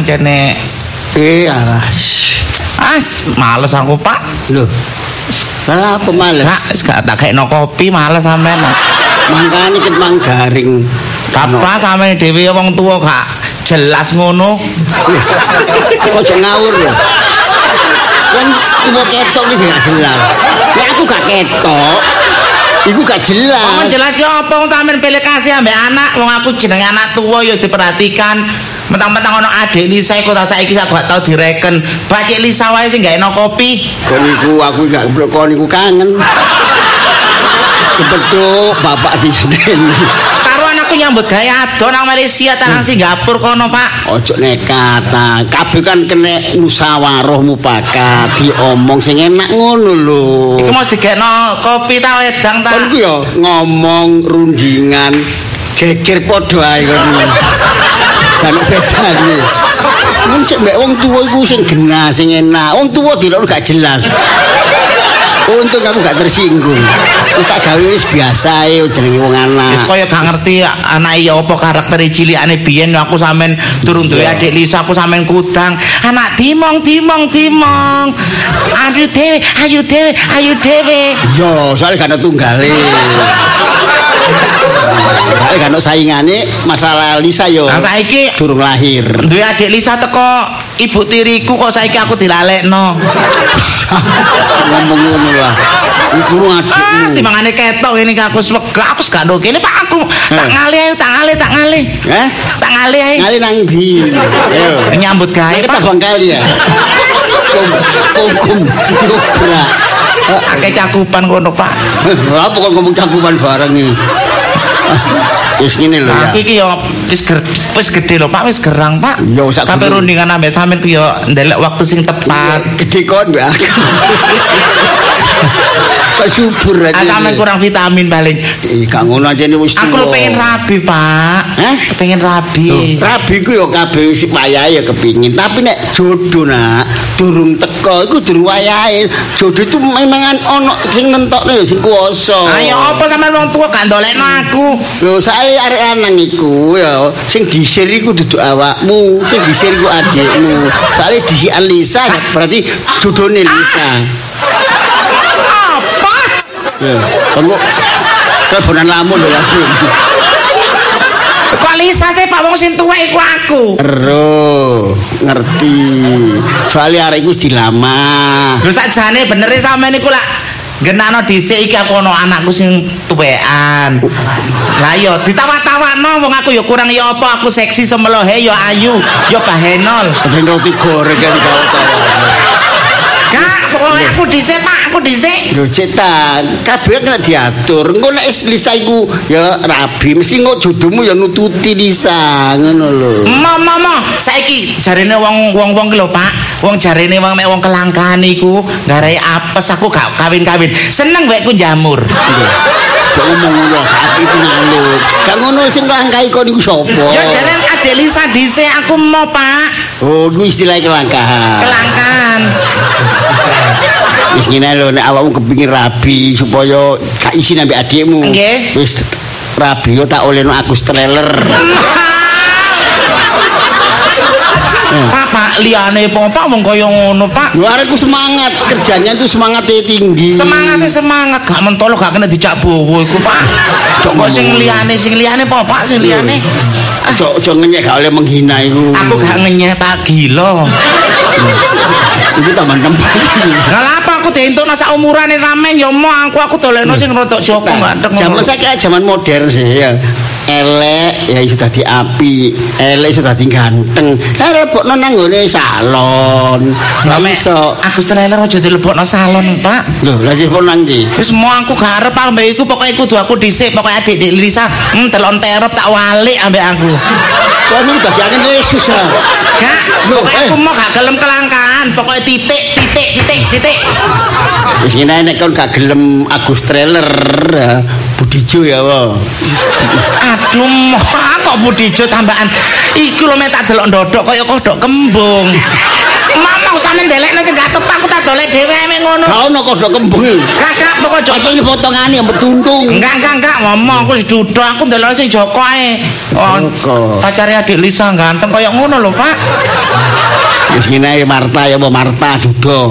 pancene. Alas. Males aku, Pak. Lho. Lah apa males? Gak tak kekno kopi males sampean. Mangkane ket mang garing. Apa sampean dhewe wong tuwa gak jelas ngono. Ojo ngawur lho. Kan ibu ketok iki gak jelas. Nek aku gak ketok, iku gak jelas. Wong jelas yo apa wong sampean pilih kasih ambek anak, wong aku jenenge anak tuwa yo diperhatikan. Mentang-mentang ono adik Lisa iku ta saiki aku gak tau direken. Bacik Lisa wae sing gak eno kopi. Kon iku aku gak kon iku kangen. Kebetul bapak di Senen. Karo anakku nyambut gawe ado nang Malaysia ta nang Singapura kono, Pak. Ojo nekat ta. Kabeh kan kena musyawarah mufakat, diomong sing enak ngono lho. Iku mesti digekno kopi ta wedang ta. Kon ku yo ngomong rundingan geger padha ae kon. Kan bedane. Wong sing mbek wong tuwa iku sing genah, sing enak. Wong tuwa dilok gak jelas. Untung aku gak tersinggung. Wis tak gawe wis biasa ae jenenge wong anak. Wis kaya gak ngerti anak iya apa karakter cilikane biyen aku sampean durung duwe adik Lisa aku sampean kudang. Anak dimong. Ayu dhewe. Yo, soalnya gak ada tunggale. Gak ada saingane masalah Lisa yo. Nah, saiki durung lahir. Duwe adik Lisa teko ibu tiriku kok saiki aku dilalekno. Ngomong ngono lah. Iku adikmu. Timangane ketok ngene iki aku swega aku gak ndok kene Pak aku. Tak ngalih. Tak ngalih ae. Ngalih nang ndi? Ayo. Nyambut gawe. Kita bangkali ya. Hukum dobrak. Akeh cakupan kono, Pak. Apa kok ngomong cakupan bareng iki? Wis ngene lho ya. Iki yo wis gede lho Pak, wis gerang Pak. Yo sak kabeh rundingan ambek sampean ku yo ndelok waktu sing tepat. Gede kon mbak. Kok subur aja. Sampean kurang vitamin paling. Gak ngono aja wis tuwa. Aku lho pengen rabi, Pak. Pengen rabi. Rabi ku yo kabeh wis wayahe ya kepingin, tapi nek jodoh nak durung teko iku durung wayahe. Jodoh itu memang ono sing nentokne ya sing kuwasa. Ayo apa sampean wong tuwa gak ndolekno aku. Lho sae arek lanang iku ya sing disir iku duduk awakmu, sing disir iku adikmu. Soale disikan Lisa berarti jodohne Lisa. Apa? Ya, kok kebonan lamun lho ya. Kok Lisa sih Pak wong sing tuwek iku aku. Ero, ngerti. Soale arek iku wis dilamar. Lho sakjane bener sampean iku lak genakno dhisik iki aku ono anakku sing tuwekan. Lah yo ditawa-tawakno wong aku yo kurang yo apa aku seksi semelohe yo ayu yo bahenol. Ben roti goreng kan tawa-tawa. Kak, pokoknya aku dhisik Pak, aku dhisik. Lho cetan, kabeh kena diatur. Engko nek Lisa iku ya rabi, mesti engko jodohmu ya nututi Lisa, ngono lho. Mama, saiki jarene wong ki lho Pak. Wong jarene wong mek wong kelangkaan iku ngarai apes aku gak kawin-kawin. Seneng wekku jamur. Kok ngomong ngono saat itu ngaluk. Gak ngono sing langkai kon iku sapa? Ya jarene Adek Lisa dhisik aku mau Pak. Oh, iku istilah kelangkaan. Kelangkaan. Wis ngene lho nek awakmu kepengin rabi supaya gak isin ambek adikmu. Nggih. Wis rabi yo tak olehno Agus trailer. Pak, liyane apa wong kaya ngono, Pak? Lho arekku semangat, kerjanya itu semangatnya tinggi. Semangatnya semangat, gak mentolo gak kena dicak bowo iku, Pak. Kok sing liyane apa, Pak? Sing liyane. Ojo ngenyek gak oleh menghina iku. Aku gak ngenyek, Pak, gila. Itu taman tempat. Gak apa aku dientukno sak umurane sampean ya mau aku dolekno sing rodok Joko ganteng. Zaman saiki zaman modern sih ya. Elek ya sudah dadi api, elek sudah dadi ganteng. Lebokno nang nggone salon. Iso. Agus trailer aja dilebokno salon, Pak. Lho, lha dilebokno nang ndi? Wis mau aku gak arep ambek iku pokoke kudu aku dhisik, pokoke adik Lisa, telon terop tak walik ambek aku. Kok ini bagiannya Yesus ya? Gak, pokoknya aku mau gak gelem kelangkaan, pokoknya titik. Wis ngene nek kon gak gelem Agus trailer, Budijo ya wae. Aduh, kok Budijo tambahan. Iku lho mek tak delok ndodok kaya kodok kembung. Mama sampe ndelekno ki gak tepak aku tak dolek dhewe mek ngono. Gak ono kodhok kembung. Kakak pokok Joko. Iki potongane mbok tuntung. Enggak ngomong aku wis duduk aku ndelok sing Joko ae. Oh, pacare adik Lisa ganteng kaya ngono lho, Pak. Wis ngene Marta ya apa Marta Dudo.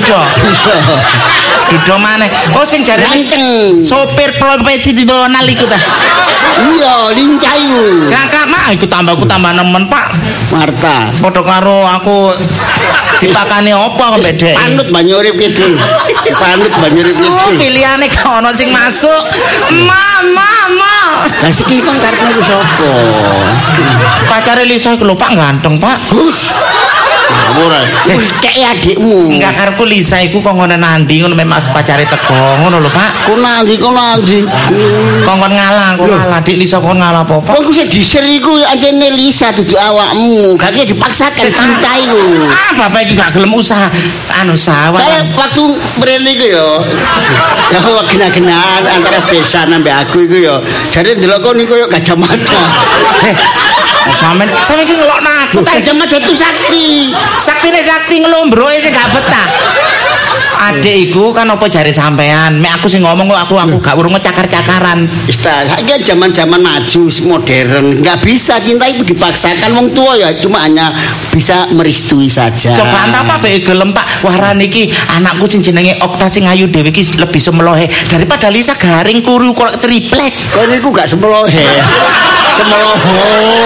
Dudo maneh. Oh sing jare ganteng. Sopir profesional iku ta. Iya, lincah iku. Kakak mak iku tambah nemen, Pak. Marta. Padha karo aku dipakani apa kok bedhe. Panut banyu urip kidul. Panut banyu urip kidul. Pilihane gak ono sing masuk. Mama. Lah iki kon karepmu ku sapa? Pacare Lisa iku lho Pak ganteng, Pak. Hus. Ora. Kek adikmu. Enggak karepku Lisa iku kok ngono nandi ngono Mas pacare teko ngono lho Pak. Ku nandi. Kongkon ngalah, Dik Lisa kon ngalah apa? Wong ku sing diser iku anjene Lisa dudu awakmu. Gak dipaksakan cinta iku. Ah, bapak iki gak gelem usaha sawah. Saya waktu mrene iku ya gena-genaan antara Besan ambek aku iku ya. Jare ndelok kon iku koyo Gajah Mada. Sampe iki ngelokno aku Gajah Mada itu sakti. Sakti ngelombroe sing gak betah. Adik iku kan apa jare sampean? Mek aku sing ngomong kok aku gak urung ngecakar-cakaran. Wis ta, saiki zaman-zaman maju modern, enggak bisa cinta itu dipaksakan wong tua ya cuma hanya bisa merestui saja. Coba apa bae gelem Pak. Warane iki anakku sing jenenge Okta sing ayu dhewe iki lebih semelohe daripada Lisa garing kuru kok triplek. Kok niku gak semelohe. Semeloho.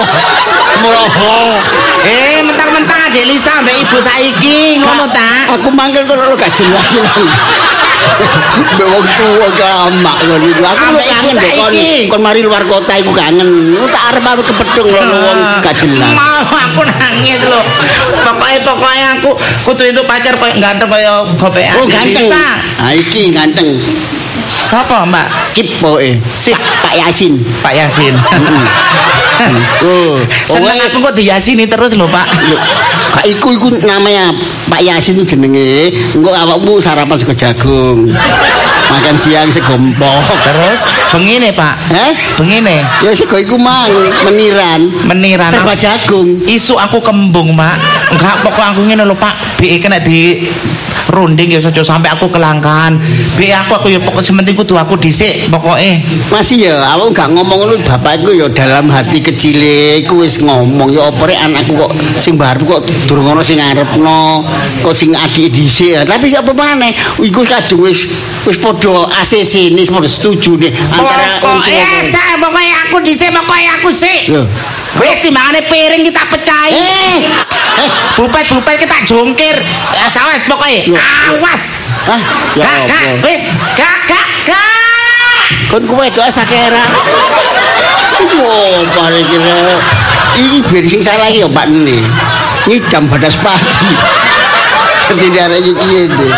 Mentang-mentang Adik Lisa mbek ibu saiki ngono ta. Aku manggil kok gak jelas. Mbek wong tuwa gamak ngono iku. Aku kangen kon mari luar kota iku kangen. Tak arep aku kepethung wong gak jelas. Aku nangis lho. Pokoke aku kudu itu pacar koyo ganteng koyo gopekan. Oh ganteng. Ah iki ganteng. Sapa, Mbak? Cipoke. Pak Yasin. Seneng aku kok diyasini terus lho, Pak. Kak iku namanya Pak Yasin jenenge. Engko awakmu sarapan sego jagung. Makan siang segompok. Terus bengine, Pak. Bengine. Ya sego iku mang meniran. Sego jagung. Isu aku kembung, Pak. Enggak pokok aku ngene lho, Pak. BE kena di runding ya aja sampai aku kelangkaan. BE aku ya pokok sementing kudu aku dhisik pokoke. Masih ya awak gak ngomong lu bapakku ya dalam hati kecile iku wis ngomong ya opo rek anakku kok sing baru kok durung ono sing ngarepno kok sing adik dhisik tapi apa maneh iku kadung wis padha ACC wis padha setuju nih antara pokoke aku dhisik pokoke aku sik. Wis timbangane piring kita pecahi. Bupet kita jongkir. Sawes pokoke. Awas. Kakak, wis, kakak. Kon kowe doa sakera. Oh, bare kira. Iki biar sing salah iki ya Pak Nene. Ngidam badas padi. Dadi arek iki iki.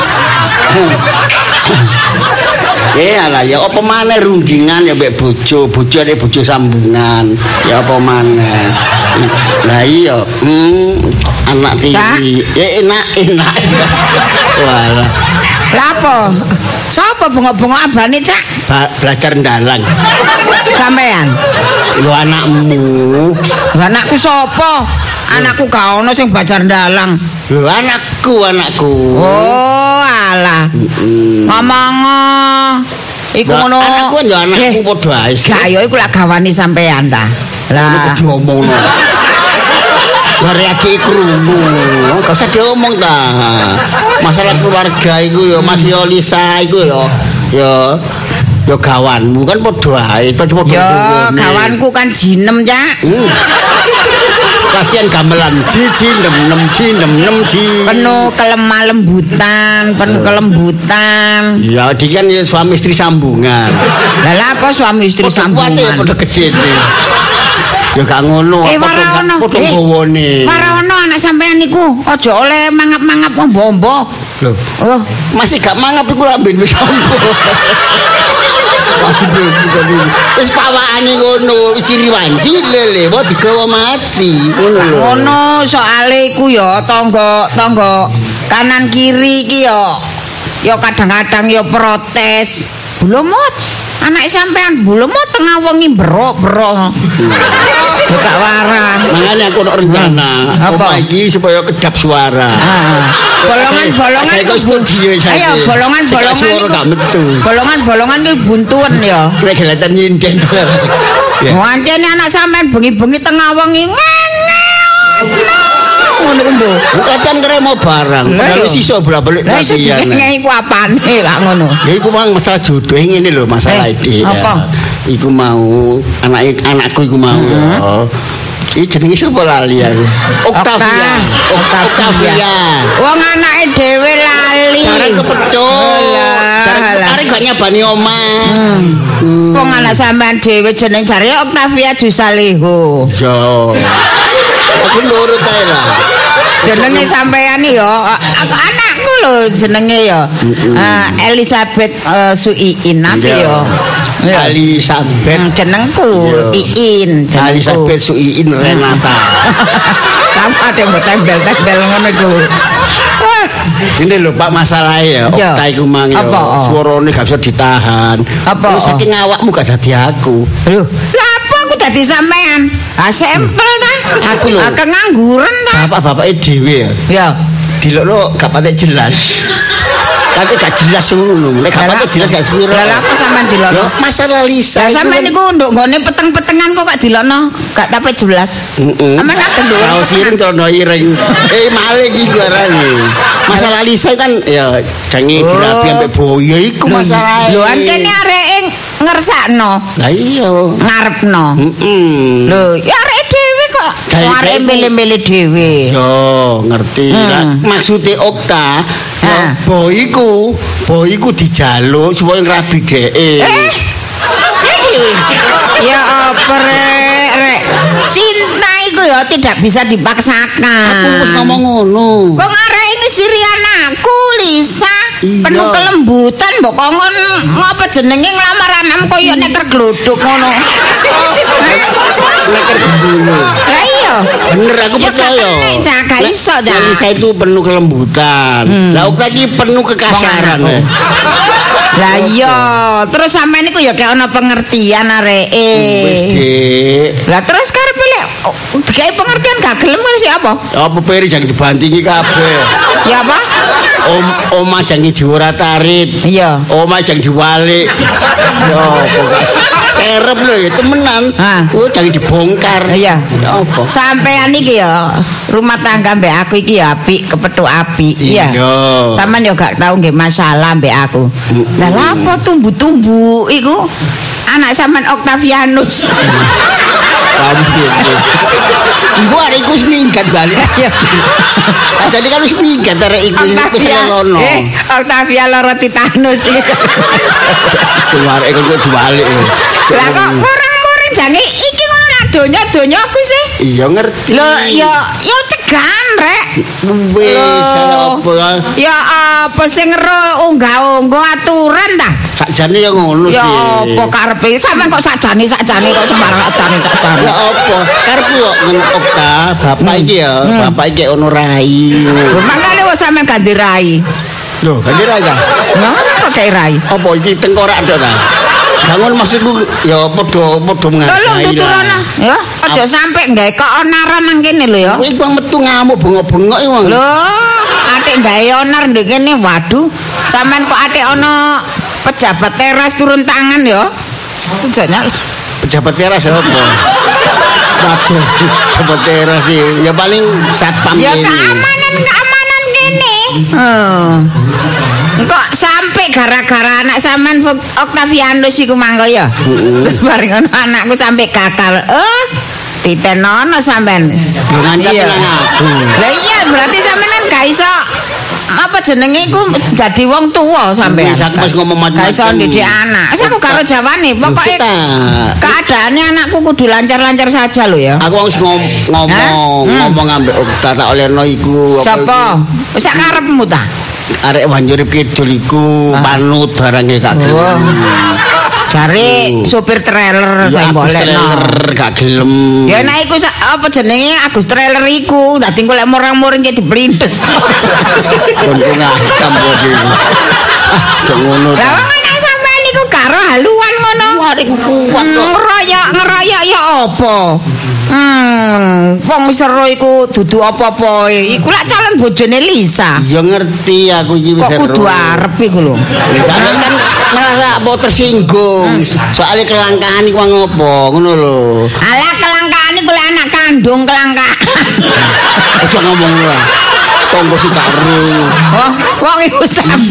Alah ya apa maneh rundingan ya mbek bojone bojo sambungan. Ya apa maneh. Lah iya, anak tiri. Ya enak. Walah. Lah apa? Sapa bengok-bengok abane, Cak? Belajar ndalang. Sampean. Lho anakmu. Anakku sapa? Anakku gak ono sing belajar ndalang. Lho anakku. Oh, alah. Ngomong iku ngono. Anakku yo anakku padha ae. Gak yo iku lak gawani sampean ta. Lah diomongno. Lare adik krungu. Gak usah diomong ta. Masalah keluarga iku yo Mas yo Lisa iku yo gawanmu kan padha ae. Yo gawanku kan jinem, Cak. Latihan gamelan jiji nem penuh kelemah-lembutan, penuh kelembutan. Ya iki kan ya suami istri sambungan. Lah apa suami istri sambungan? Padha gedhe. Ya gak ngono, padha gowone. Marono anak sampean niku aja oleh mangap-mangap ombo-ombo. Lho, masih gak mangap iku lamben wis ombo. Wis pawakane ngono, wis diriwanci lele, mau digawa mati. Ngono lho. Ngono soale iku ya tangga kanan kiri iki ya kadang-kadang ya protes. Bulumut, anak sampean bulumut tengah wengi bro. gak warah. Makanya aku ono rencana. Apa? Omah iki supaya kedap suara. Bolongan-bolongan Kayak kok studio saja. Ayo bolongan-bolongan suara gak metu. Bolongan-bolongan ki buntuen ya. Nek kelihatan nyinden. Ya. Wancene anak sampean bengi-bengi tengah wengi. Ngono ku. Kadang kremo barang. Padahal iso bolak-balik Lah iso latihan. dikene iku apane lah ngono. Ya iku mang masalah jodoh ngene lho, masalah ide. apa? Iku mau anakku iku mau ya. Iki jenenge sapa lali aku? Octavia. Wong anake dhewe lali. Jarang kepethuk. Jarang arek gak nyabani omah. Wong anak sampean dhewe jeneng jare Octavia Jusaleho. Yo. Aku nurut ae lah. Jenenge sampean ya anakku lho jenenge ya. Elizabeth Suiin apa ya? Elizabeth jenengku Iin jenengku. Elizabeth Suiin Renata. Kamu ada yang tembel-tembel ngono iku. Ini lho Pak masalahnya ya Okta iku mang ya suarane gak bisa ditahan. Apa? Saking awakmu gak dadi aku. Lho, lha apa aku dadi sampean? Sempel ta? Aku lho. Kengangguran ta? Bapak-bapake dhewe ya. Ya. Dilokno gak patek jelas. Kate gak jelas ngono. Nek gak patek jelas gak sepiro. Lah apa sampean dilokno? Masalah Lisa. Lah sampean niku nduk nggone peteng-petengan kok gak dilokno, gak tapi jelas. Aman ngaten lho. Kaos ireng celana ireng. Maling iki arane. Masalah Lisa kan ya jange dirabi ambek boyo iku masalahe. Lho ancene areke ngersakno. Lah iya. Ngarepno. Lho, ya areke dhewe kok. Areke milih-milih dhewe. Yo, ngerti. Maksude Okta, boyku dijaluk supaya ngrabi dheke. Ya apa rek? Cinta itu ya tidak bisa dipaksakan. Aku wis ngomong ngono. Wong arek ini sirian aku Lisa. Iya. Penuh kelembutan mbok kongon ngapa jenenge nglamar anakmu koyo neker glodok ngono. Neker dulu. Lah iya. Bener aku percaya. Ya gak iso ja. Lisa itu penuh kelembutan. Lah Okta iki penuh kekasaran. Lah iya, terus sampean niku ya kayak ana pengertian areke. Wis, Dik. Lah terus karepe lek dikai pengertian gak gelem kan siapa? Apa peri jangan dibantingi kabeh. Ya apa? Omah jangan diurat-arit. Iya. Omah jangan diwalik. Yo, kerep lho ya temenan. Oh, jangan dibongkar. Iya. Apa? Sampean iki ya rumah tangga mbek aku iki ya apik, kepethuk apik. Iya. Sampean yo gak tau nggih masalah mbek aku. Lah lapo tumbuh-tumbuh iku anak sampean Octavianus. Ibu arek iku minggat balik. Jadi kan wis minggat arek iku wis lono. Octavia lara titanus iki. Keluar iku diwalik. Lah kok kurang-kurang jane iki ora donya-donya aku sih. Iya ngerti. Lho ya cegan rek. Wis apa? Ya apa sing unggah-unggah aturan ta? Sakjane ya ngono sih. Ya apa karepe? Sampeyan kok sakjane kok sembarang sakjane. Ya apa? Karepku kok ngentok ta, bapak iki ya, bapak iki ono rai. Mangkane wis sampeyan ganti rai. Lho, ganti rai ta? Nah, kok kayak rai? Apa iki tengkorak tok ta? Gangun maksudku ya padha mengaji. Tolong tuturana ya, aja sampe gawe keonaran nang kene lho ya. Wis bang metu ngamuk bengok-bengok iki wong. Lho, atik gawe onar ndek kene. Waduh, sampean kok atik ana pejabat teras turun tangan ya. Jane pejabat teras apa? Waduh, pejabat teras sih. Ya paling satpam ya ini. keamanan kene. Kok sampai gara-gara anak sampean Octavianus iku mangko ya. Terus bareng ngono anakku sampai gagal. Ditenono sampean. Ngancam nang aku. Lah iya berarti sampean gak iso apa jenenge iku dadi wong tuwa sampean. Wis ngomong macam-macam. Gak iso ndidik anak. Wis aku karo jawane pokoke keadaannya anakku kudu lancar-lancar saja lho ya. Aku wis ngomong ambek Okta tak olehno iku. Sapa? Wis sak karepmu ta? Arek Wanjurip Kidul iku manut barangnya gak gelem. Jare sopir trailer sing bolehno. Gak gelem. Ya nek iku apa jenenge Agus trailer iku dadi golek morang-moring diprintes. Untung hitam kok iki. Cok ngono. Lah wong anak sampean niku karo haluan ngono. Arek kuat kok. Ngeroyok ya apa? Wong seru iku dudu apa-apa. Iku lak calon bojone Lisa. Ya ngerti aku iki wis kok kudu arep iku lho. Kan malah apa tersinggung. Soale kelangkaan iku ngopo, ngono lho. Alah kelangkaan iku lek anak kandung kelangkaan. Aja ngomong lho. Tonggo si baru. Oh, wong iku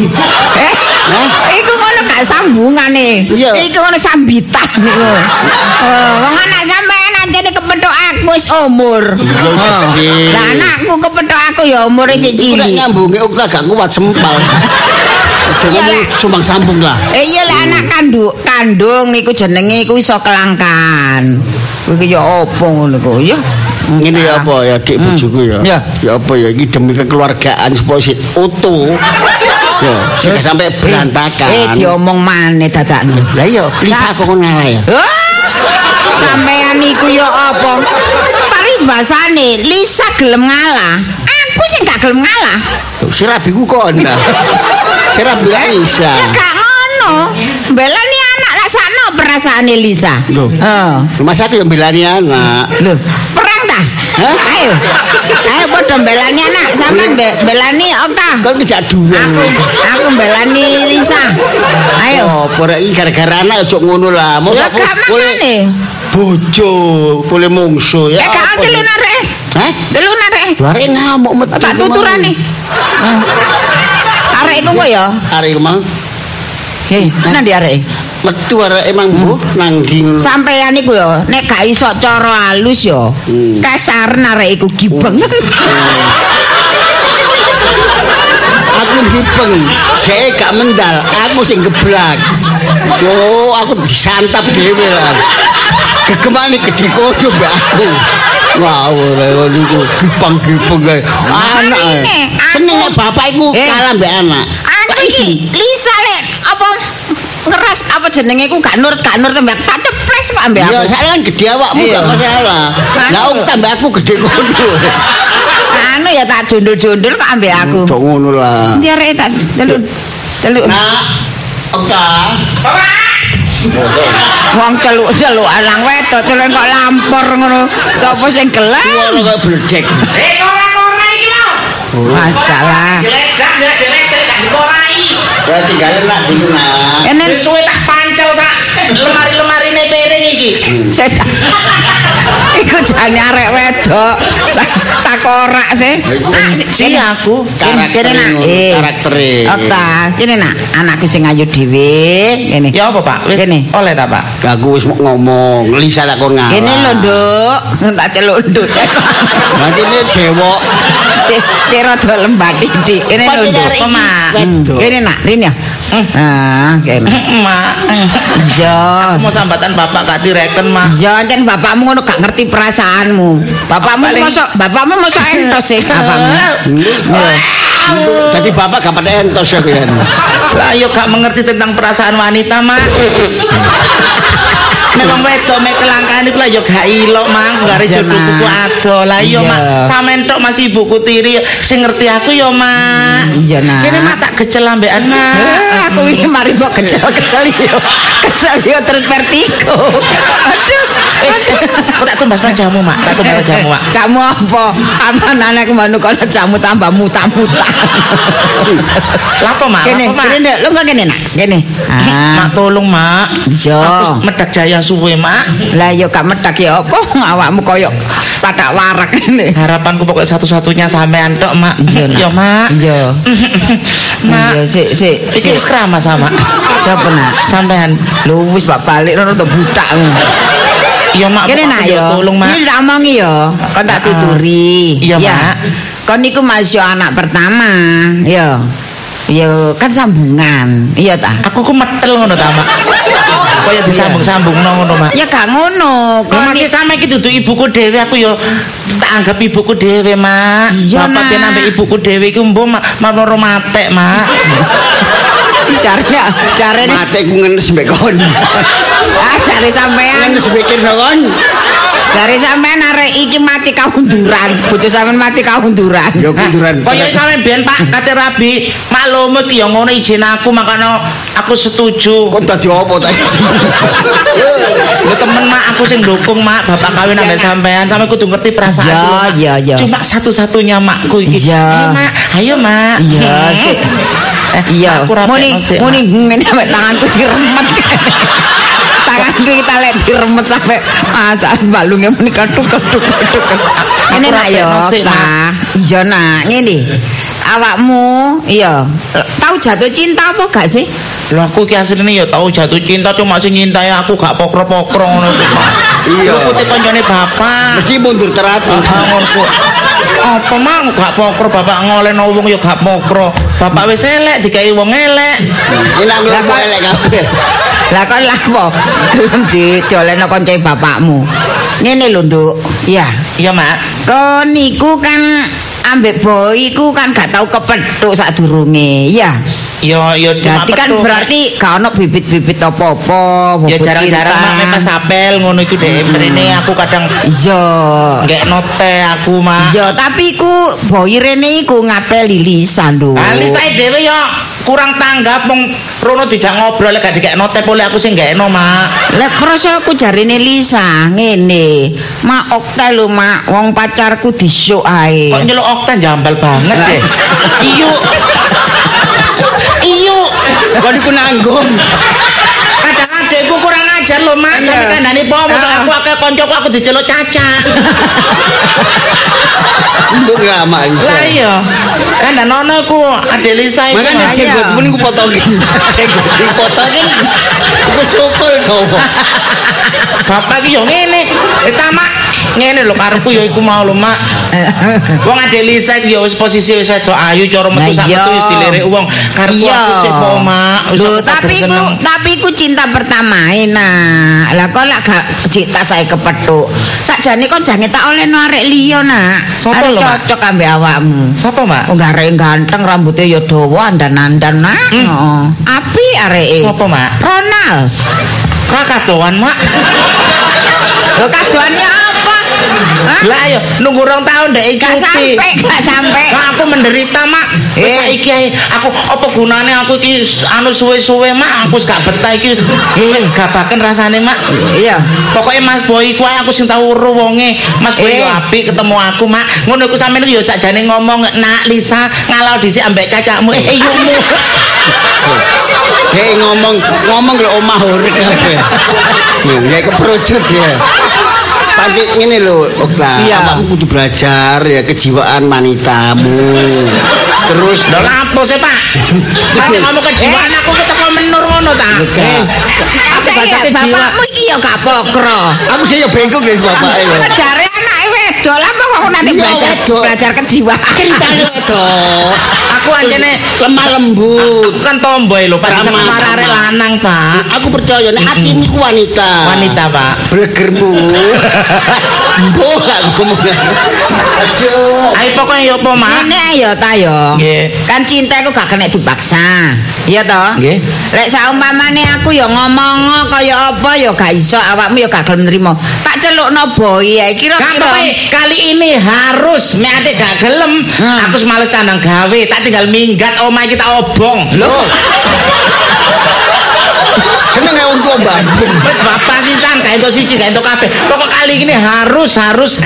iku ngono gak sambungane. Iku ngono sambitan niku. Wong anak sampean anjene kepethuk aku wis umur. Lah anakku kepethuk aku ya umure sik cilik. Nek nyambunge uga gak kuat sempal. Jenenge sumbang sambung lah. Iya lek anak kandung iku jenenge iku iso kelangkaan. Kuwi ya opo ngono kok ya. Ngene ya apa ya dik bojoku ya. Ya apa ya iki demi kekeluargaan supaya sik utuh. Ya, sing sampai berantakan. Diomong maneh dadakno. Lah iya, Lisa kok ngalah ya. Sampean iku ya apa? Paribasane Lisa gelem ngalah. Aku sing gak gelem ngalah. Si rabiku kok ndak. Si rabi Lisa. Ya gak ngono. Belani anak lah sakno perasaane Lisa. Lho. Masa aku yang belani anak. Lho, perang ta? Ayo. Ayo padha belani anak, sampean belani Okta. Kan kejak dua. Aku belani Lisa. Ayo. Oh, porek iki gara-gara anak ojo ngono lah. Ya gak makane. Bojo, boleh mungsu ya. Gak telun arek. Telun arek. Arek ngamuk metu. Tak tuturane. Arek iku kok ya? Arek mah. Nang ndi arek? Metu arek emang Bu nang ndi. Sampeyan iku ya nek gak iso cara halus ya. Kasar arek iku gibeng. Aku gibeng, dhek gak mendal, aku sing geblak. Oh, aku disantap dhewe lah. Gegemane gede koyo mbak aku. Wah, ora niku gipang-gipeng kae. Anak. Senenge bapak iku kalah mbek anak. Aku iki Lisa lek apa ngeras apa jenenge iku gak nurut mbek tak ceples kok mbek aku. Ya sak kan gede awakmu gak masalah. Lah tambah aku gede kono. Anu ya tak jondol-jondol kok ambek aku. Cok ngono lah. Ndi arek tak celuk. Nak. Oka. Bapak. Wong celuk-celuk alang wedok celuk kok lampor ngono. Sopo sing gelem? Ngono kok bledek. Ora iki lho. Masalah. Gak dikorai. Ya tinggalin nak dulu nak. Enen suwe tak pancel tak lemari-lemarine piring iki. Sedak. Iku jane arek wedok. Tak korak sih. Si aku kene nak. Karaktere. Okta, kene nak. Anakku sing ayu dhewe. Kene. Ya apa, Pak? Wis oleh ta, Pak? Aku wis ngomong, Lisa tak kon ngalah. Kene lho, Nduk. Tak celuk Nduk. Nanti ini dewok. Cero do lembah titik. Kene lho, Nduk. Kene nak, Rin ya. Kene. Mak. Iya. Mau sambatan bapak gak direken, Mak. Iya, jan bapakmu ngono gak ngerti perasaanmu. Bapakmu mosok entos sih bapakmu. Jadi bapak gak pada entos ya kan. Lah yo gak mengerti tentang perasaan wanita, Mak. Memang wedok mek kelangkaan iku lah yo gak ilok, Mang. Gare jodoh tuku ado. Lah yo, Mak. Sampeyan tok masih ibuku tiri sing ngerti aku yo, Mak. Iya, Nak. Kene Mak tak kecel ambekan, Mak. Aku iki mari mbok kecel-kecel yo. Kecel yo terus vertigo. Aduh. Aku tak tumbas jamu, Mak. Tak tumbas jamu, Mak. Jamu apa? Aman anakku manu kono jamu tambah muta-muta. Lah apa, Mak? Kene, kene lho kok kene nak. Kene. Mak tolong, Mak. Iya. Aku medak jaya suwe, Mak. Lah yo gak medak ya apa awakmu koyo padak warak ngene. Harapanku pokoknya satu-satunya sampean tok, Mak. Iya, Mak. Iya. Mak. Sik. Iki wis krama sama. Siapa nak? Sampean. Lho wis balik rono to butak. Iya, Mak. Kene nak yo. Tolong, Mak. Iki tak omongi yo. Kon tak tuturi. Iya, Mak. Kon niku masih anak pertama. Iya. Iya, kan sambungan. Iya ta? Aku ku metel ngono ta, Mak. Kaya disambung-sambungno ngono, Mak. Ya gak ngono. Kon masih sama iki dudu ibuku dhewe, aku yo tak anggap ibuku dhewe, Mak. Bapak ben ambek ibuku dhewe iku mbok maroro matek, Mak. Carane matek ku ngenes mbek kon. Cari sampean ngenes mikir kon. Dari sampean arek iki mati kaunduran, bojo sampean mati kaunduran. Ya kunduran. Kaya sampean biyen Pak kate rabi, maklum iki ya ngono izin aku makane aku setuju. Kon dadi apa ta? Ya temen Mak aku sing ndukung Mak bapak kawin ambek sampean, sampe kudu ngerti perasaan. Ya. Cuma satu-satunya makku iki. Ya. Ayo Mak. Iya sik. Iya. Muni ngene sampe tanganku diremet. Tanganku kita lek diremet sampe masak balunge muni kathuk-kathuk. Ngene nak yo, Ta. Iya nak, ngene. Awakmu iya tahu jatuh cinta apa gak sih? Lho aku ki asline ya tau jatuh cinta cuma sing nyintai aku gak pokro-pokro ngono to. Iya. Aku te koncone bapak. Mesti mundur teratur. Ngono. Apa mang gak pokro bapak ngolehno wong ya gak pokro. Bapak wis elek dikai wong elek. Enak nglaku elek kabeh. Lah kon lapo gelem didoleno kancane bapakmu. Ngene lho, Nduk. Iya. Iya, Mak. Kon niku kan ambek boy iku kan gak tau kepethuk sadurunge. Iya. Ya cuma Berarti kan berarti gak ono bibit-bibit apa-apa. Ya jarang-jarang mak pas apel ngono iku dhek mrene aku kadang iya nggak note aku mak. Iya tapi iku boy rene iku ngapeli Lisa lho. Ah Lisa dhewe ya kurang tanggap wong rono dijak ngobrol gak dikek note pole aku sing gak eno mak. Lah krasa aku jarine Lisa ngene. Mak Okta lho mak wong pacarku disuk ae. Kok nyeluk Okta jambal banget deh. Iyo Kok iku nanggung. kadang adekku kurang ajar lho mak tapi kandhane pomo aku akeh kancaku aku diceluk Caca. Nduk ngamak iso. Lah iya kandhane ono iku Ade Lisa iku. Makane jenggotmu niku potongin. Jenggot dipotongin. Iku syukur to. Bapak iki yo ngene. Mak ngene lho karepku ya iku mau lho mak. Wong Ade Lisa iki ya wis posisi wis wedok ayu cara metu sak metu wis dilirik wong. Karepku aku sik po mak. Lho tapi iku cinta pertama enak. Lah kok lak gak cinta saya kepethuk. Sakjane kon jange tak olehno arek liya nak. Sopo lho mak? Cocok ambek awakmu. Sapa mak? Oh arek ganteng rambutnya ya dawa andan-andan nak. Heeh. Api areke. Sapa mak? Ronald. Kakak doan mak. Lho kadoannya apa? Lah ayo nunggu 2 tahun dek Gak sampai. Nah, aku menderita mak. Wis saiki ae aku apa gunane aku iki anu suwe-suwe mak aku wis gak betah iki wis gabaken rasane mak. Iya. Pokoke Mas Boy ku aku sing tau weruh wonge. Mas Boy yo apik ketemu aku mak. Ngono iku sampeyan yo sakjane ngomong nak Lisa ngalau dhisik ambek cacakmu. Yumu. Kayak ngomong lho omah urip kabeh. Ya keprojot ya. Panti ngene lho, Okta. Awakmu kudu belajar ya kejiwaan wanitamu. Terus lho lapo sih, Pak? Nek ngomong kejiwaan aku ketemu menur ngono ta. Aku baca bapakmu iki ya gak pokro. Aku sih ya bengkok guys bapake lho. Jare anake wedok lah kok nanti belajar kejiwaan. Ceritane wedok. Aku anjene lemah lembut. Kan tomboy lho, Pak. Sama arek lanang, Pak. Aku percaya nek atimu ku wanita. Wanita, Pak. Blegermu. Mbok gak ngomong. Ayo pokoknya ya apa, Mak? Ini ayo ta yo. Kan cinta iku gak kena dipaksa. Iya toh? Nggih. Lek saumpamane aku ya ngomong kaya apa ya gak iso awakmu ya gak gelem nrimo. Tak celukno boy ya kira-kira kali ini harus nek ate gak gelem aku males tandang gawe tak tinggal minggat omah kita obong. Loh. Seneng ya untuk Bandung. Wis bapak sisan gak entuk siji gak entuk kabeh. Pokok kali ini harus.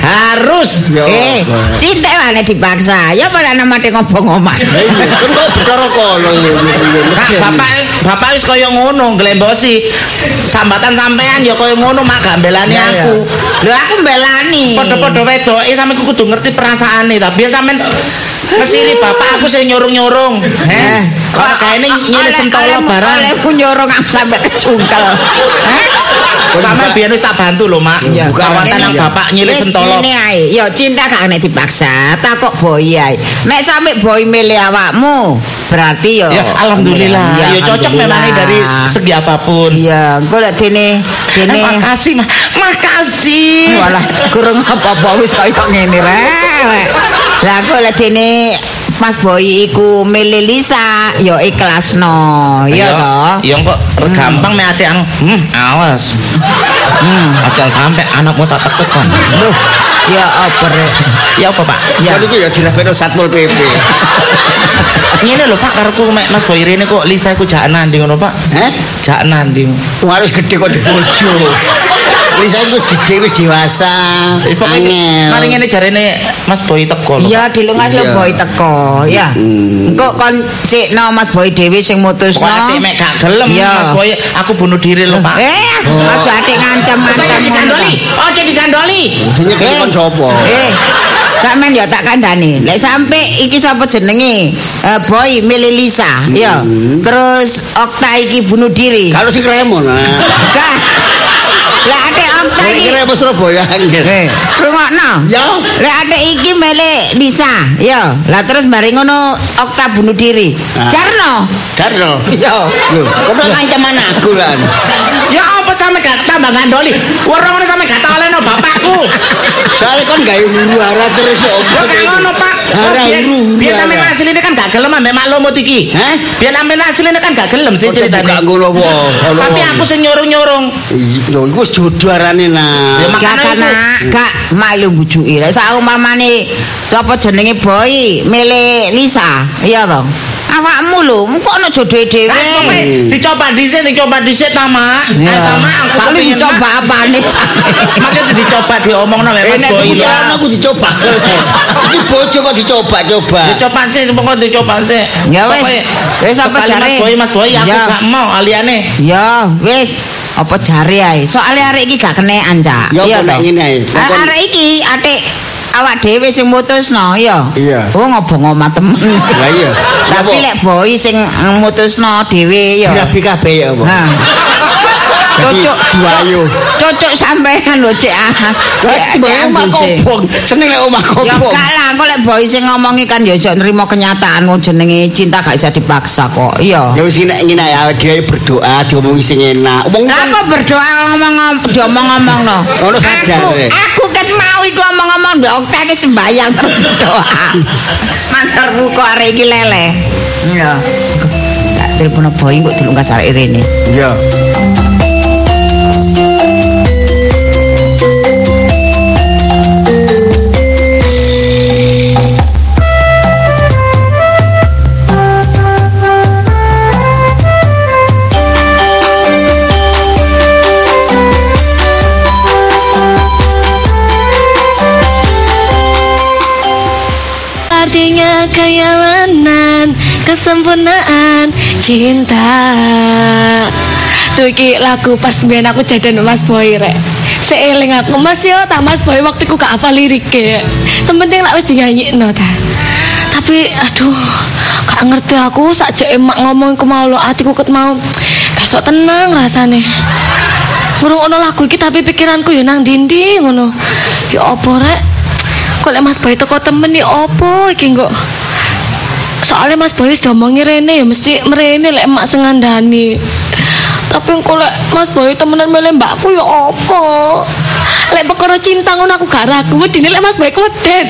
Cinta wane dipaksa. Ya pada namate ngobong omah. Iya, kan kok bicara kono ya. Bapak wis kaya ngono nglembosi. Sambatan sampean ya kaya ngono mak gak mbelani aku. Lho aku mbelani. Padha-padha wedoke sampeyan kudu ngerti perasaane tapi sampeyan mesine bapak aku sing nyurung-nyurung. Kok kaene nyilih sentolo barang. Olehku nyurung sampe kecungkel. Sama biyen wis tak bantu lho, Mak. Kawatan nang bapak nyilih sentolo. Ngene ae, ya cinta gak nek dipaksa, takok boy ae. Nek sampe boy milih awakmu, berarti ya alhamdulillah. Ya cocok memang dari segi apapun. Iya, engko lek dene makasih, makasih. Walah, kurang apa-apa wis kaya ngene rek. Lah kok lek dene Mas Boy iku milih Lisa, ya ikhlasno, ya toh. Ya kok gampang mek atik awas. Aja sampe anakmu tak tekuk kon. Loh, ya apa rek? Ya apa, Pak? Ya niku ya dirapeno Satpol PP. Ngene lho Pak, kareku mek Mas Boy rene kok Lisa iku jak nandi ngono Pak. Jak nandi. Harus gede kok dibojo. Lisa iku wis gede wis dewasa. Angel. Mari ngene jarene Mas Boy teko lho. Iya, dilungas lho Boy teko, ya. Engko kon sikno Mas Boy dhewe sing mutusno. Kok atik mek gak gelem Mas Boy, aku bunuh diri lho Pak. Aja atik ngancam-ngancam digandoli. Ojo digandoli. Sing kon sapa? Sampeyan ya tak kandhani. Lek sampe iki sapa jenenge? Boy milih Lisa, ya. Terus Okta iki bunuh diri. Kalau sing kremon. Enggak. Lek ate Okta iki kira apa Surabaya anjir. Rungokno. Ya. Lek ate iki milih Lisa, ya. Lah terus bareng ngono Okta bunuh diri. Jarno. Ya. Lho, kok ngancam anakku lan. Ya apa sampe gak tambah ngandoli? Ora ngono sampe gak olehno bapakku. Soale kon gawe huru-hara terus opo. Gak ngono Pak. Biar sampe asline kan gak gelem ambek maklumut iki. Biar sampean asline kan gak gelem sih ceritane. Gak ngono apa. Tapi aku sing nyurung-nyurung. Lho iku wis jodoh arane nah. Ya makane gak malu bujuki. Lek sak umpamane sapa jenenge Boy milih Lisa, iya to? Awakmu lho, kok ana jodohe dhewe. Dicoba dhisik ta, Mak. Ta Mak aku tapi dicoba apane? Maksudnya dicoba diomongno mek Mas Boy. Aku dicoba. Iki bojo kok dicoba-coba. Dicoba sih, pokok dicoba sih. Ya wis apa jare? Mas Boy aku gak mau aliane. Ya wis. Apa jare ae? Soale arek iki gak kenekan, Cak. Iya to. Arek iki atik awak dhewe sing mutusno, ya. Iya. Oh ngobong omah temen. Lah iya. Tapi lek Boy sing mutusno dhewe ya. Dirabi kabeh ya apa? Cocok diwayu. Cocok sampean lho Cek. Omah kobong. Seneng lek omah kobong. Ya gak lah, kok lek Boy sing ngomongi kan ya iso nrimo kenyataan wong jenenge cinta gak bisa dipaksa kok. Iya. Ya wis ngene ae dhewe berdoa diomongi sing enak. Lah kok berdoa diomong-omongno. Ono sadar. Aku ket mau iku omong-omong ndok Okta iki sembayang berdoa. Mantarku kok arek iki leleh. Iya. Tak telepon Boy kok dilungkas arek rene. Iya. Artinya kayamanan, kesempurnaan cinta. Duh iki lagu pas mbiyen aku jajan Mas Boy rek. Seeling aku Mas yo tak Mas Boy waktu ku gak hafal lirike. Sementing lak wis dinyanyikno ta. Tapi aduh, gak ngerti aku sakjane emak ngomong ku mau lo atiku ket mau. Gak sok tenang rasane. Ngrungokno lagu iki tapi pikiranku yo nang dindi ngono. Ya apa rek? Kok lek Mas Boy teko temen iki opo iki kok. Soalnya Mas Boy wis diomongi rene ya mesti mrene lek emak sing ngandani. Tapi kok lek Mas Boy temenan milih mbakku ya opo. Lek perkara cinta ngono aku gak ragu, wedine lek Mas Boy keweden.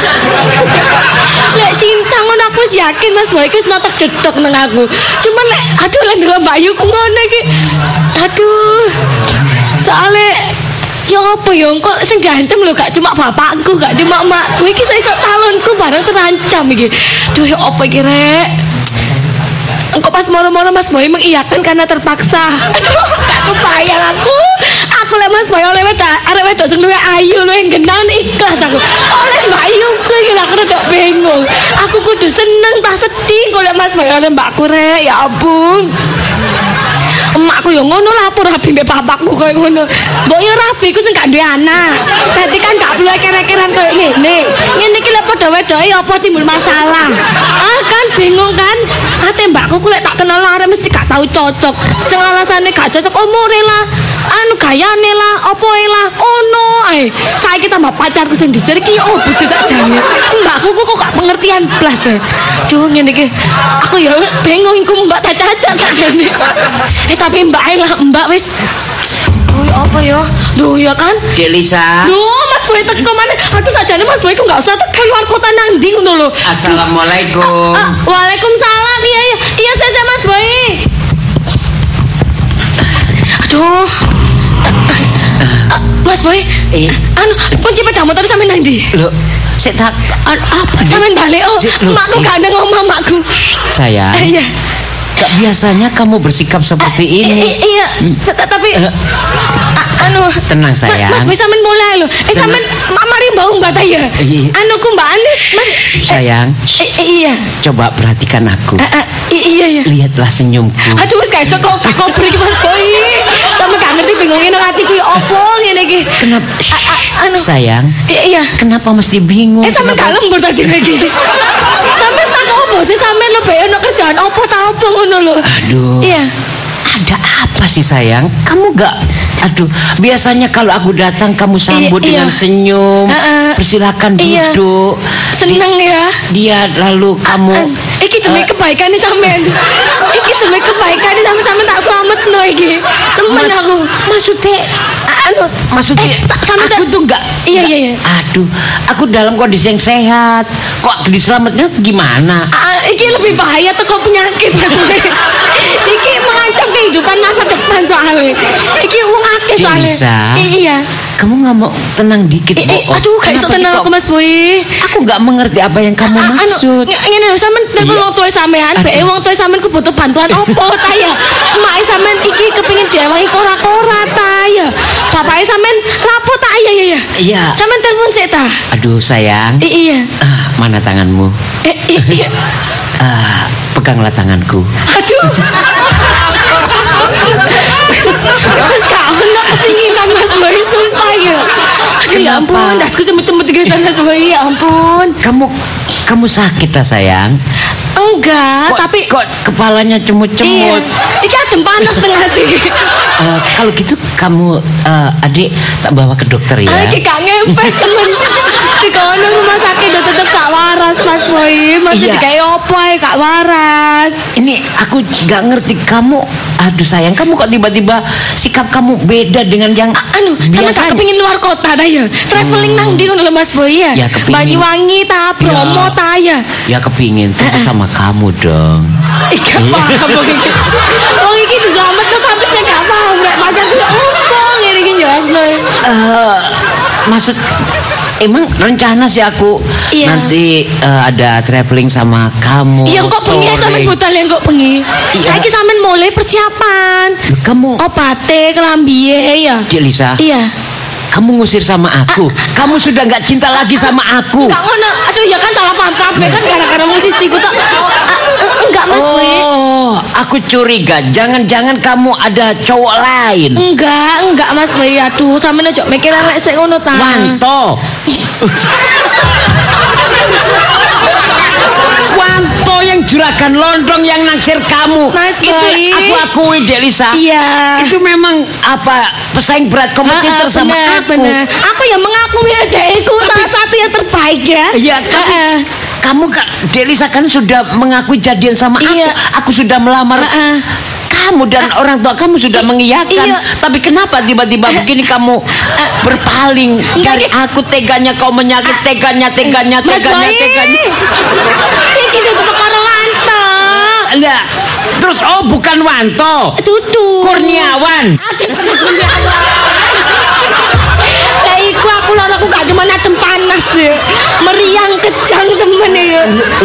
Lek cinta ngono aku yakin Mas Boy wis notok jedok nang aku. Cuman lek aduh lek ndelok Mbak Yu ngono iki. Aduh. Soale ya apa ya kok sing diancam lho gak cuma bapakku, gak cuma emakku, iki iso calonku bareng terancam iki. Duh ya apa iki rek? Engko pas moro-moro Mas Boy mengiyakan karena terpaksa. Aduh, gak kebayang aku. Aku lek Mas Boy oleh arek wedok sing luwih ayu, luwih genah ikhlas aku. Oleh Mbak Ayu iki aku rada bingung. Aku kudu seneng tak sedih kok lek Mas Boy oleh mbakku rek, ya ampun. Emakku yo ngono lah apa rabi mbek bapakku koyo ngono. Mbok yo rabi ku sing gak duwe anak. Dadi kan gak perlu kere-keran koyo ngene. Ngene iki lek padha wedoke apa timbul masalah. Ah kan bingung kan? Ate mbakku ku lek tak kenal arek mesti gak tau cocok. Sing alasane gak cocok umure lah. Anu gayane lah, opoe lah. Ono ae. Saiki tambah pacarku sing disir iki yo bojo tak jane. Mbakku kok gak pengertian blas. Duh ngene iki. Aku yo bingung iku mbak tak cacat sakjane. Tapi mbak lah, mbak wis. Duh apa ya? Duh ya kan? Cek Lisa. Duh Mas Boy teko maneh. Aduh sajane Mas Boy ku enggak usah teko luar kota nang ndi ngono lho. Assalamualaikum. Waalaikumsalam. Iya saja Mas Boy. Aduh. Mas Boy, anu kunci sepeda motor sampe nang ndi? Lho, sik tak apa? Sampeyan balik. Makku gak ada ngomong makku. Sayang. Iya. Gak biasanya kamu bersikap seperti ini. Iya, tapi anu tenang sayang. Mas bisa men mulai lho. Sampean mari bau mbak ta ya. Anu ku Mbak Anis, Mas. Sayang. Iya. Coba perhatikan aku. Iya. Lihatlah senyumku. Aduh wis gak iso kok beri Mas Boy. Sampe gak ngerti bingungin nang atiku ya opo ngene iki. Kenapa? Anu sayang. Iya. Kenapa mesti bingung? Sampe gak lembur tadi lagi. Sampe tak opo sih sampe lebih ono kerjaan opo ta opo ngono lho. Aduh. Iya. Ada apa sih sayang? Kamu gak... Aduh, biasanya kalau aku datang kamu sambut dengan senyum. Persilakan duduk. Seneng ya. Dia lalu kamu... Iki demi kebaikan nih sampean. Iki demi kebaikan nih sampean tak selametno iki. Temen aku. Maksudnya aku tuh enggak. Iya. Aduh, aku dalam kondisi yang sehat. Kok diselamatnya gimana? Iki lebih bahaya teko penyakit. Iki mengancam kehidupan masa depan soalnya. Iki wong akeh soalnya. Iya. Kamu nggak mau tenang dikit, aduh, gak iso tenang aku Mas Boy. Aku nggak mengerti apa yang kamu maksud. Ngene lho, sampean telepon wong tuwa sampean, beke wong tuwa sampean ku butuh bantuan opo ta ya? Emak sampean iki kepengin diawangi kora-kora ta ya? Bapake sampean lapo ta? Iya. Sampean telepon sik ta? Aduh, sayang. Iya. Mana tanganmu? Iya. Peganglah tanganku. Aduh. Wis gak ono kepingin kan Mas Boy sumpah ya. Aduh ya ampun, dasku cemut-cemut di sana coba ya ampun. Kamu sakit ta sayang? Enggak, tapi kok kepalanya cemut-cemut. Iya. Iki adem panas tengah hati. Kalau gitu kamu adik tak bawa ke dokter ya. Iki gak ngepek temen. Di kono rumah sakit udah tetep gak waras Mas Boy. Masih kayak opo gak waras. Ini aku gak ngerti kamu. Aduh sayang, kamu kok tiba-tiba sikap kamu beda dengan yang biasanya. Sama tak kepingin luar kota dah ya. Traveling nang ndi ngono lho Mas Boy ya. Banyuwangi ta, Bromo ta ya. Ya kepingin tapi sama kamu dong. Iya paham iki. Wong iki diselametno tapi saya gak paham rek macam opo ngene iki jelasno. Maksud emang rencana sih aku nanti ada traveling sama kamu. Iya kok bengi sampean budal yang kok bengi. Saiki sampean mulai persiapan. Kamu opate kelambihe ya. Cik Lisa. Iya. Kamu ngusir sama aku. Kamu sudah nggak cinta lagi sama aku. Enggak ngono. Aduh ya kan salah paham kabeh kan gara-gara musisiku tok. Enggak Mas Boy. Oh, aku curiga jangan-jangan kamu ada cowok lain. Enggak Mas Boy. Aduh, sampeyan ojo mikir arek sik ngono ta. Wanto. Wanto yang juragan Londong yang naksir kamu. Mas itu Boy. aku akui Delisa. Iya. Itu memang apa pesaing berat kompetitor sama aku. Bener. Aku yang mengakui adekku salah satu yang terbaik ya. Iya. Kamu Delisa kan sudah mengakui jadian sama aku. Aku sudah melamar. Kamu dan orang tua kamu sudah mengiyakan. Tapi kenapa tiba-tiba begini kamu berpaling dari aku? Teganya kau menyakit. Teganya. Iki itu perkara Wanto. Lah, terus bukan Wanto. Tutu. Kurniawan. Lah iku aku lho aku gak cuma adem panas ya. Meriang kejang temen ya.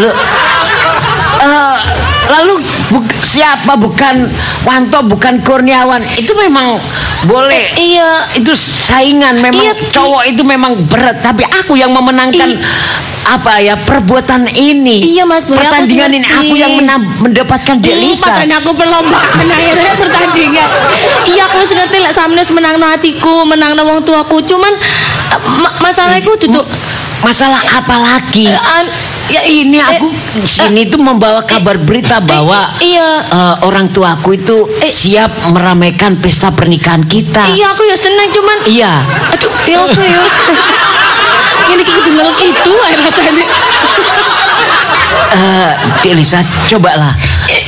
Lalu siapa? Bukan Wanto, bukan Kurniawan. Itu memang boleh. Iya. Itu saingan. Memang cowok itu memang berat. Tapi aku yang memenangkan perbuatan ini. Iya Mas Boy. Pertandingan ini aku yang mendapatkan Delisa. Padahal aku perlombaan akhirnya pertandingan. Iya aku ngerti lah sampeyan menangno hatiku, menangno wong tuaku. Cuman masalahku duduk. Masalah apa lagi? Ya ini aku sini tuh membawa kabar berita bahwa orang tuaku itu siap meramaikan pesta pernikahan kita. Iya aku ya senang cuman. Iya. Aduh ya apa ya? Ini kedengeran itu rasanya. Delisa cobalah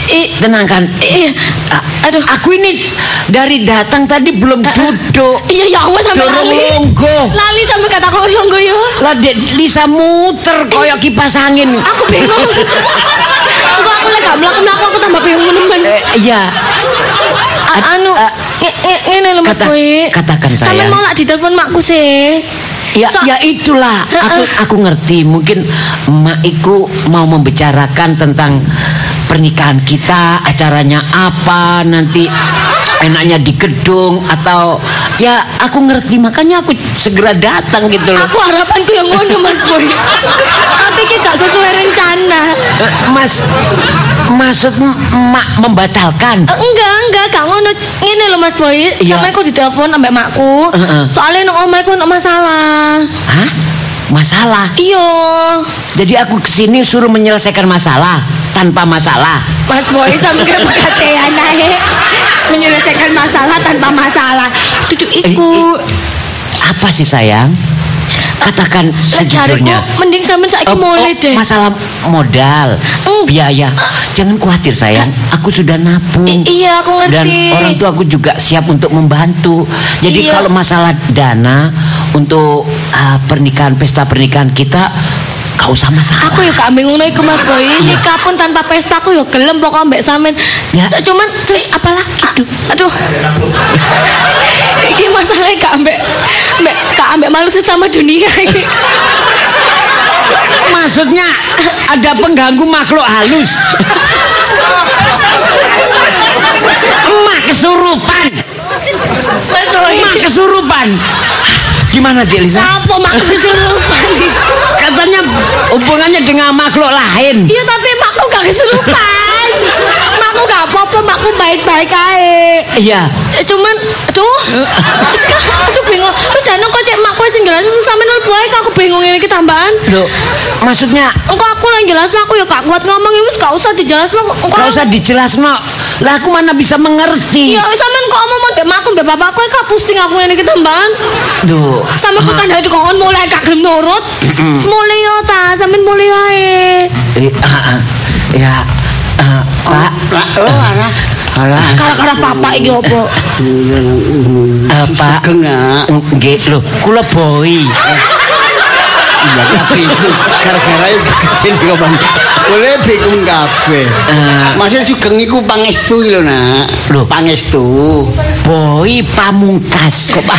tenangkan. Aduh, aku ini dari datang tadi belum duduk. Iya ya Allah sampai lali. Lali sampai kata kau longgo yo. Lah Dek Lisa muter koyo kipas angin. Aku bingung. Aku lagi mlaku-mlaku aku tambah bingung nemen. Iya. Anu ngene lho Mas Boy. Katakan sayang. Sampe mau lak ditelepon makku sih. Ya itulah. Aku ngerti. Mungkin emak iku mau membicarakan tentang pernikahan kita, acaranya apa, nanti enaknya di gedung atau ya aku ngerti, makanya aku segera datang gitu loh. Aku harapanku yang ngono Mas Boy. Tapi ki gak sesuai rencana. Mas, maksud emak membatalkan? Enggak, gak ngono. Ngene lho Mas Boy, sampe aku ditelepon ambek makku. Soalnya nang omahku ono masalah. Hah? Masalah? Iya. Jadi aku kesini suruh menyelesaikan masalah tanpa masalah. Mas Boy sampe kecapean ae. Menyelesaikan masalah tanpa masalah. Duduk iku. Apa sih sayang? Katakan sejujurnya. Mending sampean saiki mulai deh. Masalah modal, biaya. Jangan khawatir sayang, aku sudah nabung. Iya, aku ngerti. Dan orang tua aku juga siap untuk membantu. Jadi kalau masalah dana untuk pesta pernikahan kita, gak usah masalah. Aku ya gak bingung iku Mas Boy. Nikah pun tanpa pesta aku ya gelem pokok mbek sampean. Ya. Cuman terus apalagi? Aduh. Iki masalahnya gak ambek makhluk sesama dunia iki. Maksudnya ada pengganggu makhluk halus. Emak kesurupan. Emak kesurupan. Gimana Dek Lisa? Apa mak kesurupan? Katanya hubungannya dengan makhluk lain. Iya tapi makku gak kesurupan. Makku gak apa-apa, makku baik-baik aja. Iya. Cuman aduh bingung. Wis jane kok cek makku sing jelas sampean bae aku bingung ini tambahan. Loh, maksudnya engko aku lah jelasno aku ya gak kuat ngomong wis gak usah dijelasno. Gak usah dijelasno. Lah aku mana bisa mengerti. Iya, sampean kok ngomong mbek makku mbek bapakku kok pusing aku ini tambahan. Duh. Sampe kok kan hati kon mulai gak gelem nurut. Mulai yo ta, sampean mulai wae. Ya, Pak. Alah. Kara-kara papa iki opo? Pak. Nggih, lho, kula Boy. Iya, tapi itu gara-gara itu kecil kok Bang. Boleh bingung kabeh. Masih sugeng iku pangestu lho, Nak. Lho, pangestu. Boy Pamungkas kok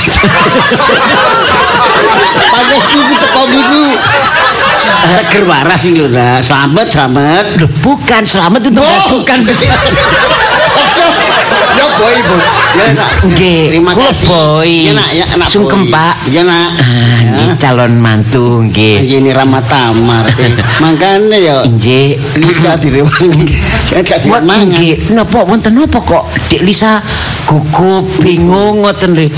pangestu iku teko niku. Seger waras iki lho, Nak. Slamet. Lho, bukan selamat itu bukan. Ya Boy, Bu. Ya Nak. Nggih, terima kasih. Boy. Ya Nak, Sungkem, Pak. Ya Nak. Nggih, calon mantu nggih. Ini Ramatamar. Mangkane ya nggih Lisa direwangi. Gak dimangan. Nggih, napa wonten napa kok Dek Lisa gugup bingung ngoten lho.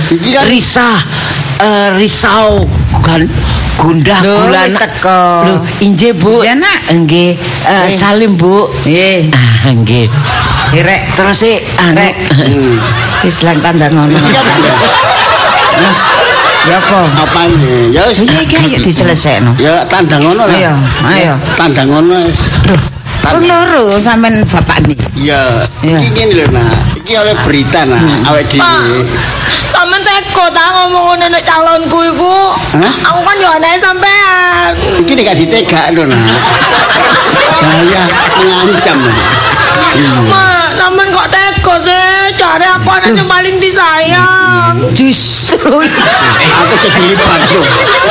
Risau kan gundah gulana. Wis teko. Lho, inggih Bu. Ya Nak. Nggih. Salim Bu. Nggih. Nggih. Rek terus rek. Wis lan tanda ngono. Ya apa nih? Ya wis iki ayo diselesekno. Ya tanda ngono lah. Ayo. Tanda ngono wis. Wong loro sampean bapak niki. Iya. Iki lho Nak. Iki oleh berita Nak, awake dhewe. Sampeyan teko ta ngomong ngono nek calonku iku. Aku kan yo anake sampean. Iki nek gak ditegak lho Nak. Bahaya mengancam. Ma, sampean kok teko sih? Cari aku anak yang paling disayang. Justru aku kelipat tuh.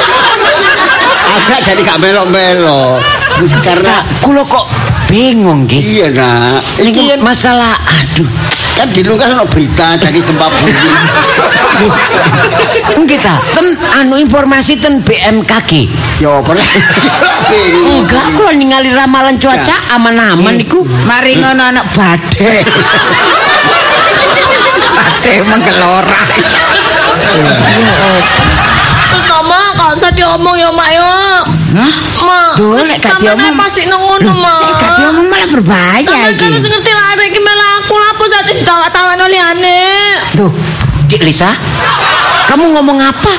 Agak jadi gak melok-melok. Karena kula kok bingung nggih. Iya Nak. Ini masalah aduh. Kan di luar kan berita jadi gempa bumi. Kita ten informasi ten BMKG. Yo pernah. Enggak, kula ningali ramalan cuaca aman-aman niku. Mari ngono anak badhe. Badhe menggelora. Mama, gak usah diomong ya Mak yo. Ma, lek gak diomong pasti ngono Ma. Lek gak diomong malah berbahaya iki. Kan wis ngerti lah arek iki malah aku lapo sate ditawa-tawano liyane. Tuh, Dik Lisa. Kamu ngomong apa?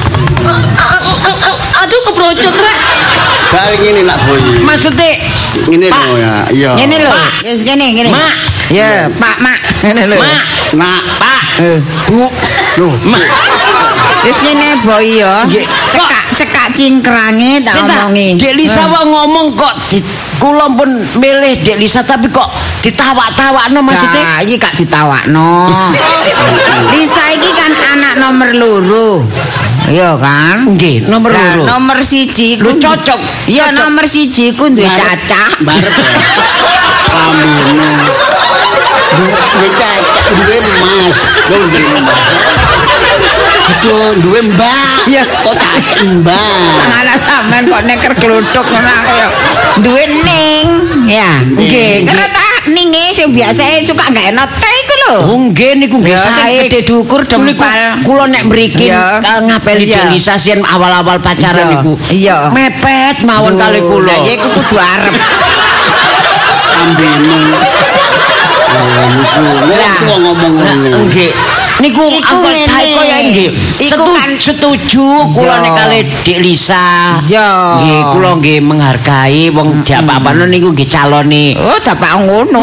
Aduh kebrojot rek. Soal ngene Nak Boy. Maksudnya ngene lho ya. Iya. Ngene lho. Wis ngene. Mak, Ya, Pak, Mak. Ngene lho. Mak, Nak, Pak, Bu. Loh, Mak. Wis ngene boy ya. Nggih. Cekak cingkrange tak Sinta, omongi. Dek Lisa wae ngomong kok kula pun milih Dek Lisa tapi kok ditawak-tawakno maksudnya. Nah, iki gak ditawakno. Lisa iki kan anak nomor loro. Iya kan? Nggih, nomor Lah, loro. nomor siji Lu ku cocok. Iya, nomor siji ku duwe cacah. barep. Amine. Duwe cacak, duwe emas. Lho, duwe emas. Aduh, duwe mbak. Iya. Kok cacak mbak. Anak sampean kok neker gluduk ngono aku ya. Duwe ning, ya. Nggih, Kira nggih. ta ninge sing biasa suka gak enak teh iku lho. Oh nggih niku nggih Ya, sing sae. gede dukur Niku dempal. kula nek mriki Iya. ngapeli Iya. Dek Lisa sien awal-awal pacaran Iya. niku. Iya. Mepet mawon kali kula. Lah ya iku kudu arep. Ambine. Oh, niku. Lah. Wong ngomong ngene. Nggih. Niku Iku angkot ngene. saya kaya nggih. Iku kan- Setuju kula Iya. nek kali Dek Lisa. Iya. Nggih, kula nggih menghargai wong diapa-apano niku nggih calone. Oh, dapak ngono.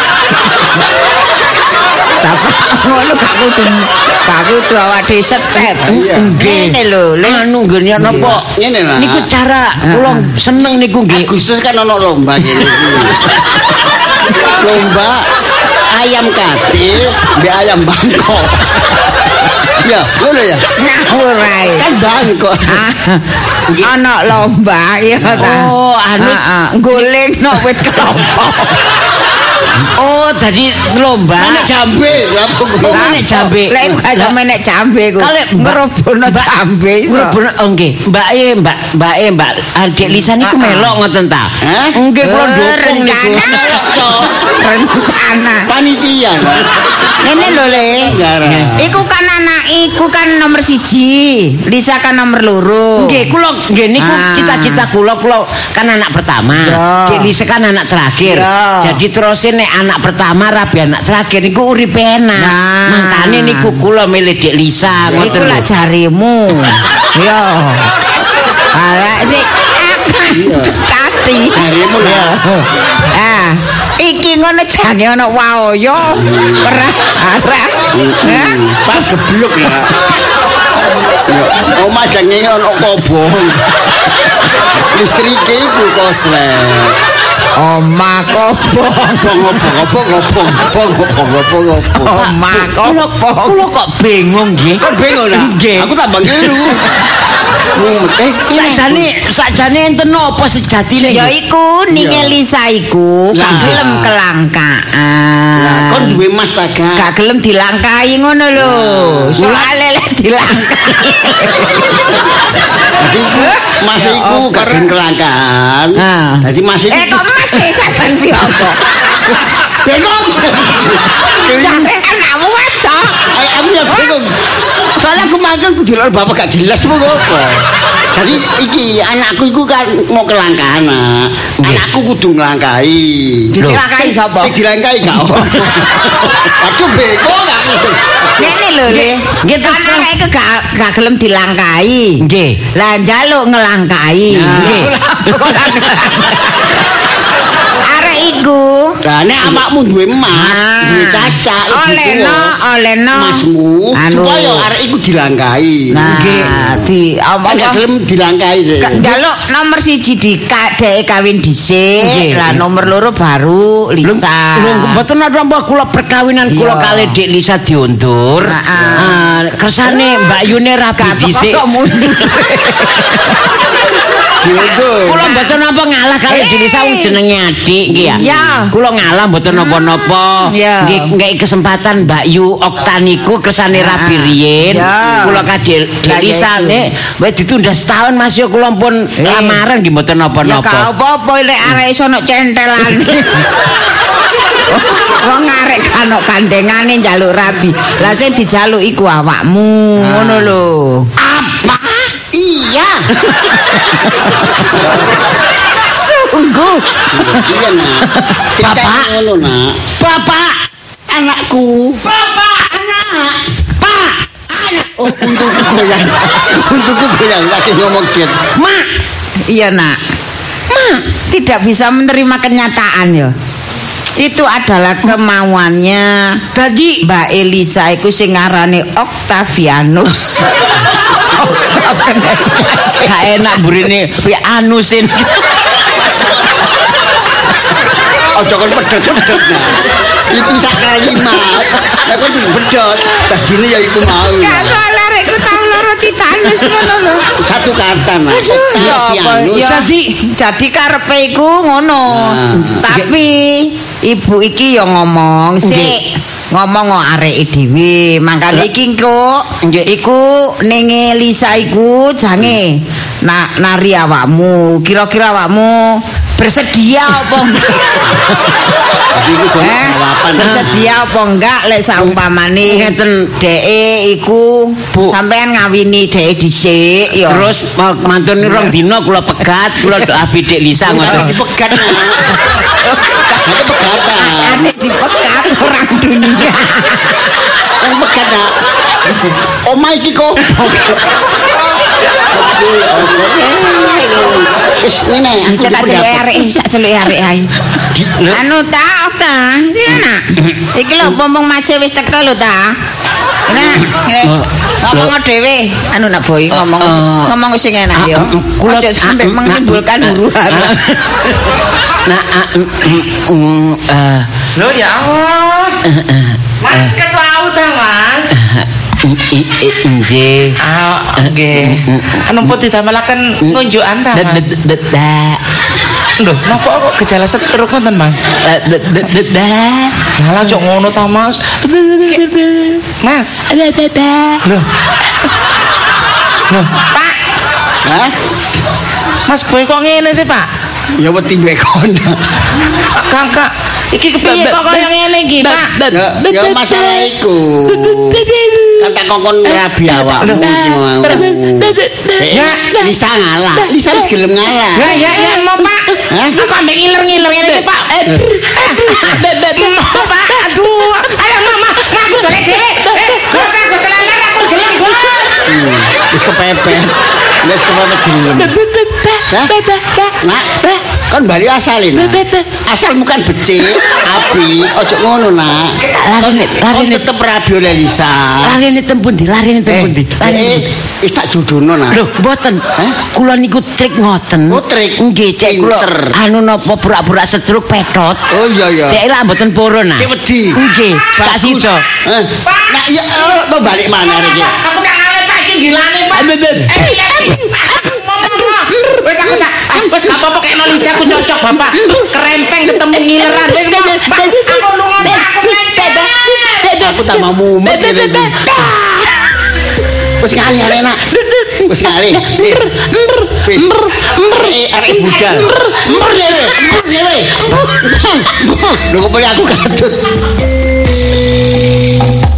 Dapak ngono gak kudu awak dhewe setet. Ngene lho, Le. Anu nggih napa? Ngene lah. Niku cara kula seneng niku nggih. Agustus kan ono lomba kene iki. Lomba ayam kate mbek ayam Bangkok. Ya, ngono ya. Ngawur ae. Kan Bangkok. Ana lomba ya ta. Oh, anu. Guling no wit kelapa. Oh, dadi lomba. Nek jambe, lha kok Oh, nek jambe. Lek gak sampe nek jambe ku. Kale ngerobono jambe iso. Ngerobono nggih. Mbak Dek Lisa niku melok ngoten ta? Hah? Nggih kula ndukung niku. Rencana. Panitia. Ngene lho Le. Gara. Iku kan nomor siji. Lisa kan nomor loro. Nggih, kula nggih niku Ah. cita-cita kula kan anak pertama. Ya. Dek Lisa kan anak terakhir. Ya. Jadi terus nek anak pertama rabi anak terakhir niku uripe enak. Nah. Mangkane niku kula milih Dek Lisa Iku ngoten. lak jarimu. Yo. Ala sik kati. Jarimu lah. Ah, iki ngono jange ana waoyo. Perah arah. Hah? Pak geblok ya. Omah jange ono kobong. Listrike iku koslet. Oma kobong. Ngobong. Oma kobong. Kula kok bingung nggih. Kok bingung lah? Nggih. Aku tambah keliru. Sakjane enten napa sejatine? Ya iku ninge Iya. Lisa iku gak Lah. gelem kelangkaan. Kon duwe mas ta gak? Gak gelem dilangkai ngono lho. Soale lek dilangkai. Dadi iku mas iku gak gelem kelangkaan. Ah. Dadi mas iku Kok masih sampean piye apa? bingung. Jare anakmu wedok. Aku ya bingung. Soalnya aku makan kudu lho bapak gak jelas apa. Jadi iki anakku iku kan mau kelangkaan. Anakku kudu nglangkai. Dilangkai sapa? Sing dilangkai gak ono. Aduh bingung aku. Ngene lho, Le. Nggih, terus Anak iku gak gelem dilangkai. Nggih. Lah njaluk ngelangkai. Nggih. Arek iku Lah nek awakmu duwe emas, duwe cacak, olehno masmu anu. supaya arek iku dilangkai. Nah, di Kan gak gelem dilangkai. njaluk nomor siji dek kawin dhisik, Nggih. lah nomor loro baru Lisa. Lho mboten napa kula perkawinan kula Iya. kali Dek Lisa diundur. Kersane Mbak Yune rabi dhisik. Kok mundur. Diundur. Kula mboten napa ngalah kali Dek Lisa wong jenenge adik nggih ya. Iya. Kula ngalah mboten napa-napa. Iya. Nggih ngeki kesempatan Mbak Yu Oktaniku kersane rabi riyen. Iya. Kula kadek Dek Lah, Lisa iya, nek wis ditunda setahun Mas yo kula pun lamaran nggih mboten Ya gak napa-napa. apa-apa lek arek iso ono centelane. Wong arek kan ono gandengane njaluk rabi. Lah sing dijaluk iku awakmu, ngono lho. Apa? Iya. Sungguh. Iya nak. Bapak. Ngono nak. Bapak, Anakku. Bapak, anak. Pak, Oh, untukku goyang. Untukku goyang lagi ngomong gitu. Mak. Iya, Nak. Tidak bisa menerima kenyataan ya. Itu adalah kemauannya Tadi Mbak Elisa iku sing ngarane Octavianus. gak enak burine anusin. Ojo kon pedhot-pedhot nah. Itu sak kalimat. Nek kon pedhot, dadine ya iku mau. Gak soal arekku tau loro titanus ngono lho. Satu kata nah. Jadi karepe iku ngono. Tapi ibu iki ya ngomong sik. Ngomong kok areke dhewe. Mangkane iki kok iku ning Lisa iku jange nari awakmu. Kira-kira awakmu bersedia apa enggak? Bersedia apa enggak lek saumpamane ngeten dheke iku sampean ngawini dheke dhisik ya. Terus mantune rong dina kula pegat, kula doa bidik Lisa ngoten. Dipegat nah. Itu pegatan. Ane dipegat orang dunia. Yang pegat nah. Omah iki kok. Wis ngene. Tak celuk arek ae. Anu ta. Enak. Iki lho pompong masih wis teko lho ta. Ngomong dhewe. Anu nak boy ngomong sing enak ya. Kula sampe menimbulkan huru-hara. Lho ya Allah. Mas ketau ta Mas? Nggih. Nggih. Anu pun didamelaken ngunjukan ta Mas? Lho, napa kok gejala stroke wonten Mas? Lah cok ngono ta Mas? Mas. Loh. Pak. Hah? Mas Boy kok ngene sih, Pak? Ya wedi bekon. Kakak, iki kepiye kok kaya ngene iki, Pak? Ya masalah iku. Kata kongkon rabi awakmu ya Lisa ngalah. Lisa wis gelem ngalah. Ya mau Pak. Kok ambek ngiler-ngiler ngene iki, Pak? Pak, aduh. Ayo mama, aku golek dhewe. Gak laler aku gelem, Bos. Wis kepepet. Wis kepepet gelem. Nak, kon bali asalin. Asalmu kan becik, api, ojo ngono nak. Larine tetep rabi oleh Lisa. Larine tempun di. Wis tak judono nak. Lho, mboten. Kula niku trik ngoten. Oh, trik. Nggih, cek kula anu napa burak-burak sedruk petot. Oh iya. Cek lah mboten purun nah. Sik wedi. Nggih, tak sida. Nak iya mau balik mana iki? Aku tak ngale Pak iki gilane, Pak. Wes aku tak wes gak apa-apa kena Lisa aku cocok Bapak. Kerempeng ketemu ngileran. Wes Pak, aku lunga aku lecet. Aku tak mau mumet iki. Wes kali arek. Wes kali. Arek budal. Dhewe. Lho kok aku katut.